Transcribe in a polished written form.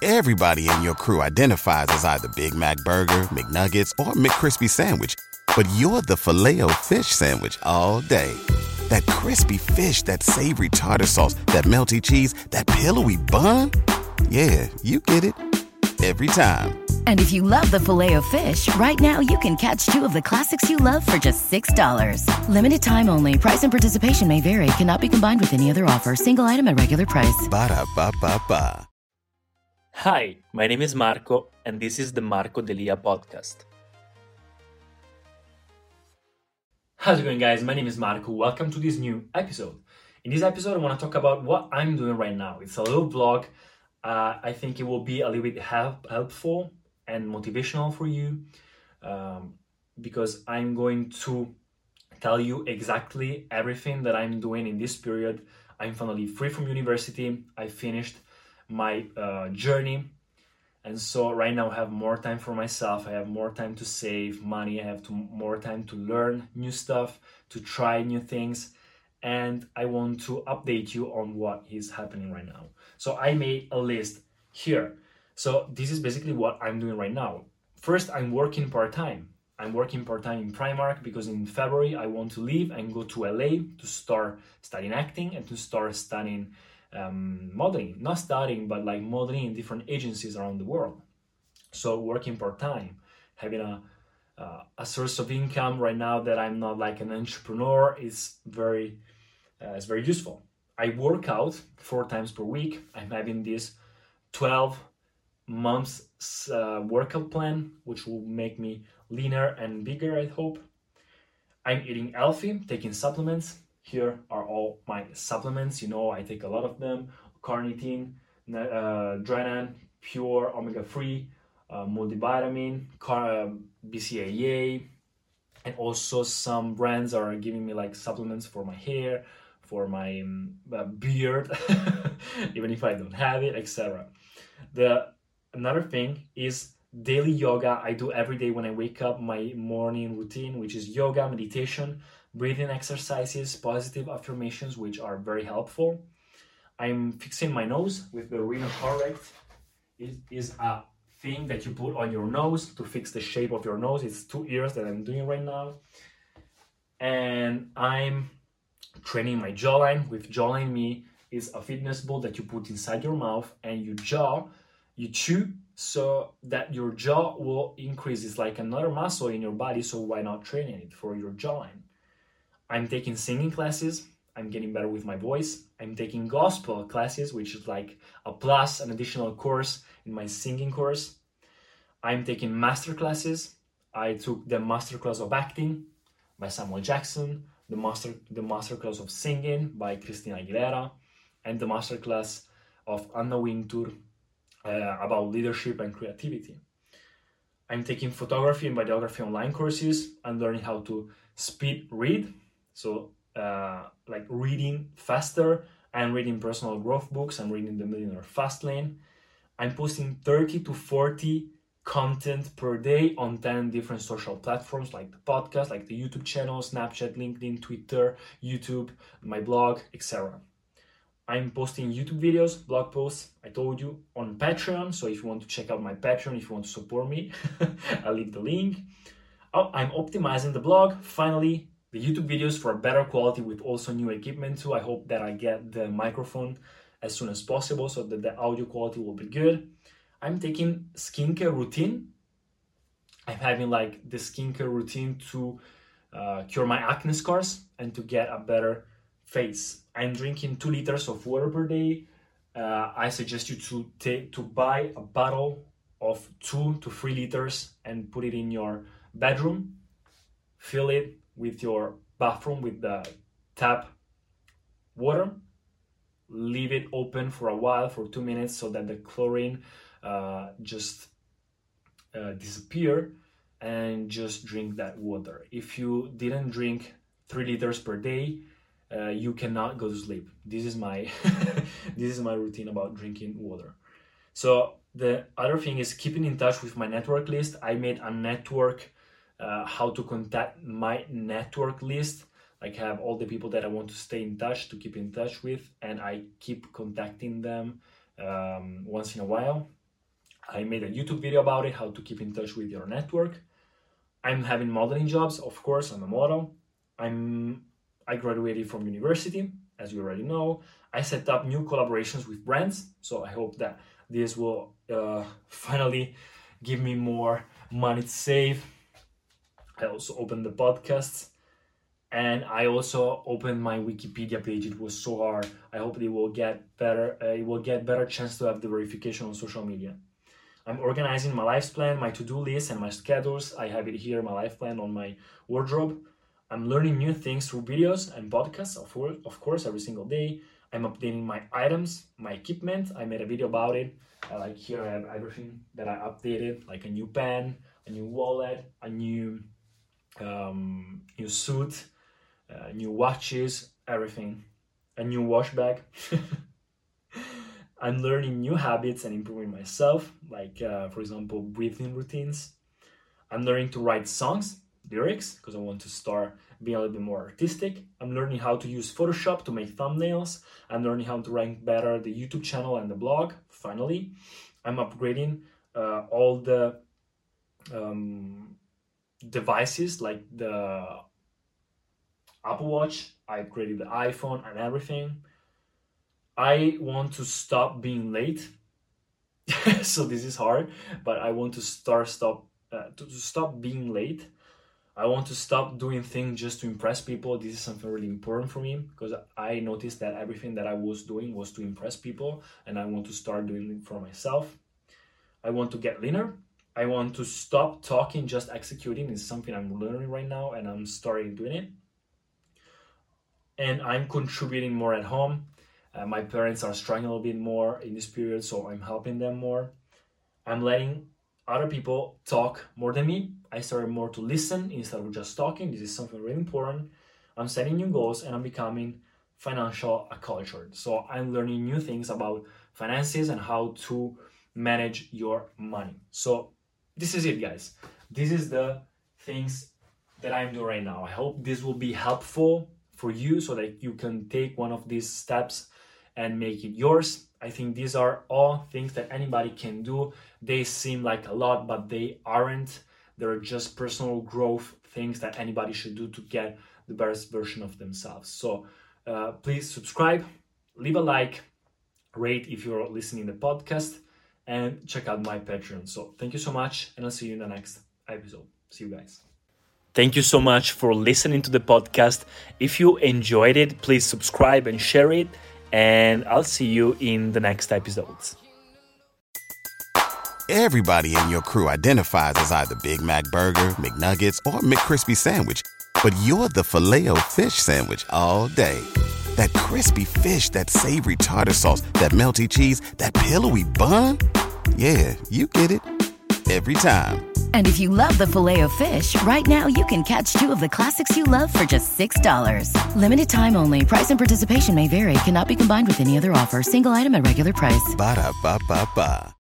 Everybody in your crew identifies as either Big Mac Burger, McNuggets, or McCrispy Sandwich. But you're the Filet-O-Fish Sandwich all day. That crispy fish, that savory tartar sauce, that melty cheese, that pillowy bun. Yeah, you get it. Every time. And if you love the Filet-O-Fish, right now you can catch two of the classics you love for just $6. Limited time only. Price and participation may vary. Cannot be combined with any other offer. Single item at regular price. Ba-da-ba-ba-ba. Hi, my name is Marco, and this is the Marco Delia podcast. How's it going, guys? My name is Marco. Welcome to this new episode. In this episode, I want to talk about what I'm doing right now. It's a little vlog. I think it will be a little bit helpful and motivational for you because I'm going to tell you exactly everything that I'm doing in this period. I'm finally free from university. I finished my journey, and so right now I have more time for myself. I have more time to save money. I have more time to learn new stuff, to try new things, and I want to update you on what is happening right now. So I made a list here. So this is basically what I'm doing right now. First, I'm working part-time. I'm working part-time in Primark because in February I want to leave and go to LA to start studying acting and to start studying modeling. Not studying, but like modeling in different agencies around the world. So working part-time, having a source of income right now that I'm not like an entrepreneur is very useful. I work out 4 times per week. I'm having this 12 months workout plan, which will make me leaner and bigger, I hope. I'm eating healthy, taking supplements. Here are all my supplements. You know, I take a lot of them. Carnitine, Dranan, Pure, Omega-3, multivitamin, BCAA, and also some brands are giving me like supplements for my hair, for my beard, even if I don't have it, etc. Another thing is daily yoga. I do every day when I wake up, my morning routine, which is yoga, meditation, breathing exercises, positive affirmations, which are very helpful. I'm fixing my nose with the Rhinocorrect. It is a thing that you put on your nose to fix the shape of your nose. It's 2 ears that I'm doing right now. And I'm training my jawline with Jawline Me. Is a fitness ball that you put inside your mouth and you chew so that your jaw will increase. It's like another muscle in your body, so why not training it for your jawline? I'm taking singing classes. I'm getting better with my voice. I'm taking gospel classes, which is like an additional course in my singing course. I'm taking master classes. I took the master class of acting by Samuel Jackson, the master class of singing by Christina Aguilera, and the master class of Anna Wintour about leadership and creativity. I'm taking photography and videography online courses. I'm learning how to speed read, so like reading faster. I'm reading personal growth books. I'm reading The Millionaire Fastlane. I'm posting 30 to 40 content per day on 10 different social platforms, like the podcast, like the YouTube channel, Snapchat, LinkedIn, Twitter, YouTube, my blog, etc. I'm posting YouTube videos, blog posts, I told you, on Patreon. So if you want to check out my Patreon, if you want to support me, I'll leave the link. I'm optimizing the blog. Finally, the YouTube videos for better quality with also new equipment too. I hope that I get the microphone as soon as possible so that the audio quality will be good. I'm taking skincare routine. I'm having like the skincare routine to cure my acne scars and to get a better face. I'm drinking 2 liters of water per day. I suggest you to buy a bottle of 2 to 3 liters and put it in your bedroom. Fill it with your bathroom with the tap water. Leave it open for a while, for 2 minutes, so that the chlorine just disappear, and just drink that water. If you didn't drink 3 liters per day, you cannot go to sleep. This is my routine about drinking water. So the other thing is keeping in touch with my network list. I made a network, how to contact my network list. Like have all the people that I want to stay in touch, to keep in touch with, and I keep contacting them once in a while. I made a YouTube video about it, how to keep in touch with your network. I'm having modeling jobs, of course, I'm a model. I graduated from university, as you already know. I set up new collaborations with brands, so I hope that this will finally give me more money to save. I also opened the podcasts, and I also opened my Wikipedia page. It was so hard. I hope it will get better. It will get better chance to have the verification on social media. I'm organizing my life plan, my to-do list, and my schedules. I have it here, my life plan on my wardrobe. I'm learning new things through videos and podcasts, of course, every single day. I'm updating my items, my equipment. I made a video about it. Like here I have everything that I updated, like a new pen, a new wallet, a new suit, new watches, everything, a new wash bag. I'm learning new habits and improving myself, like for example, breathing routines. I'm learning to write songs, lyrics, because I want to start being a little bit more artistic. I'm learning how to use Photoshop to make thumbnails. I'm learning how to rank better the YouTube channel and the blog, finally. I'm upgrading all the devices, like the Apple Watch. I upgraded the iPhone and everything. I want to stop being late. So this is hard, but I want to stop being late. I want to stop doing things just to impress people. This is something really important for me, because I noticed that everything that I was doing was to impress people, and I want to start doing it for myself. I want to get leaner. I want to stop talking, just executing. It's something I'm learning right now, and I'm starting doing it. And I'm contributing more at home. My parents are struggling a little bit more in this period, so I'm helping them more. I'm letting other people talk more than me. I started more to listen instead of just talking. This is something really important. I'm setting new goals, and I'm becoming financial acculturated. So I'm learning new things about finances and how to manage your money. So this is it, guys. This is the things that I'm doing right now. I hope this will be helpful for you so that you can take one of these steps and make it yours. I think these are all things that anybody can do. They seem like a lot, but they aren't. They're just personal growth things that anybody should do to get the best version of themselves. So please subscribe, leave a like, rate if you're listening to the podcast, and check out my Patreon. So thank you so much, and I'll see you in the next episode. See you guys. Thank you so much for listening to the podcast. If you enjoyed it, please subscribe and share it. And I'll see you in the next episodes. Everybody in your crew identifies as either Big Mac Burger, McNuggets, or McCrispy Sandwich. But you're the Filet-O-Fish Sandwich all day. That crispy fish, that savory tartar sauce, that melty cheese, that pillowy bun. Yeah, you get it. Every time. And if you love the Filet-O-Fish, right now you can catch 2 of the classics you love for just $6. Limited time only. Price and participation may vary. Cannot be combined with any other offer. Single item at regular price. Ba-da-ba-ba-ba.